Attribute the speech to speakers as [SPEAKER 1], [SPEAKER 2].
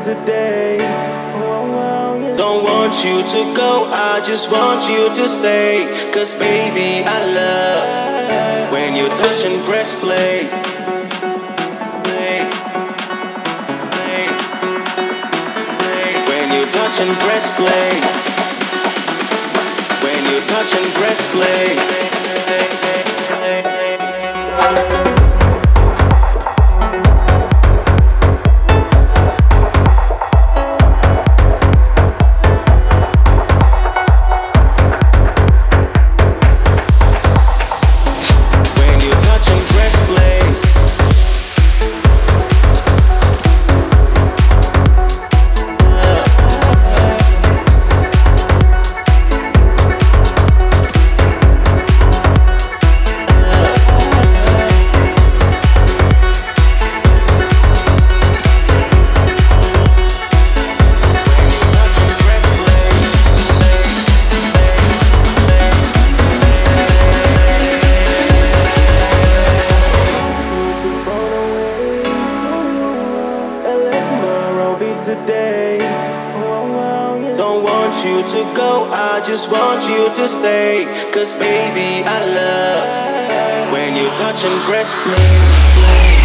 [SPEAKER 1] today.
[SPEAKER 2] Don't want you to go, I just want you to stay. Cause baby, I love when you touch and press play. When you touch and press play. When you touch and press play.
[SPEAKER 1] Today,
[SPEAKER 2] don't want you to go, I just want you to stay. Cause baby, I love when you touch and press play.